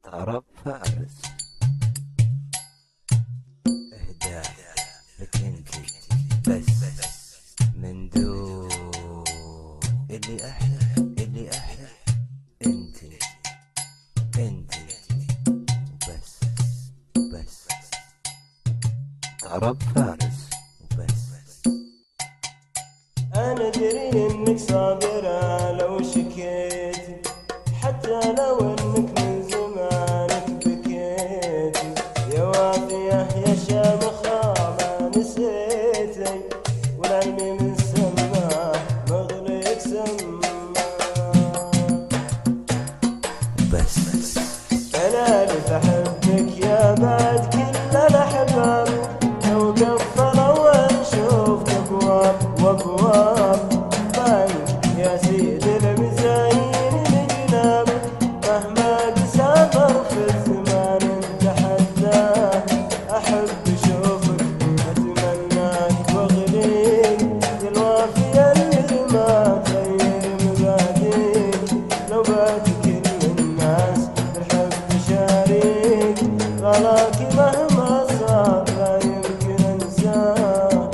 طرب فارس. اهدى لك انتي بس من دون اللي احلى انتي بس طرب فارس وبس. أنا أدري إنك صابرة لو شكيتي، حتى لو إنك من زمانك بكيتي. يا وافية يا شامخة ما نسيتي، والعلمي من سماه مغرق سماه بس أنا اللي بحبك يا بعد كل الأحباب، لو قفلوا ونشوف أبواب وأبواب باين يا سيدي المزايين الجناب. مهما تسافر في الزمان نتحداه، أحب أشوفك أتمناك وأغليك، يا الوافية اللي ما تغير مبادئك. لو بات كل الناس بالحب شاريك، غلاك مهما صار لا يمكن انساه.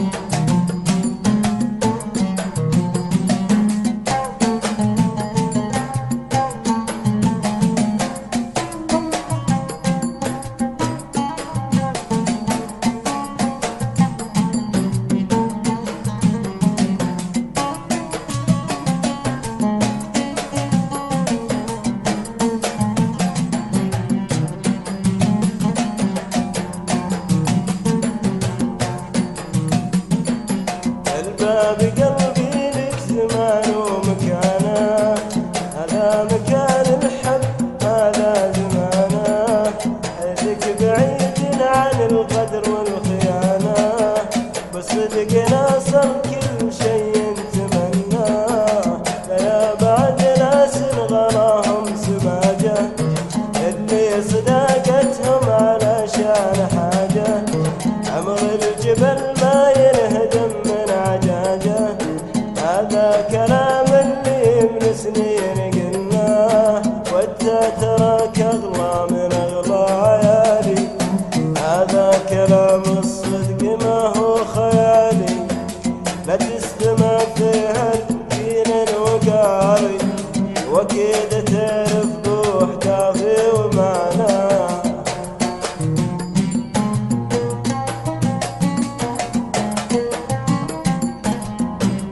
الباب قلبي لك زمان ومكانه، هذا مكان الحب هذا زمانه. حيثك بعيد عن القدر والخيانة، بالصدق ناصر كل شيء نتمناه. يا بعد ناس غراهم سماجه، اللي صداقتهم علشان حاجه. عمر الجبل ما ينهدم من عجاجه، هذا كلام اللي من سنين قلناه. وانت تراك اغلى من اغلى عيالي، هذا كلام الصدق ما هو خيالي. لا تستمع في هالدين الوقاري، واكيد تعرف بوح دافي ومعناه.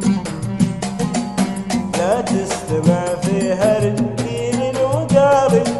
لا تستمع في هالدين الوقاري،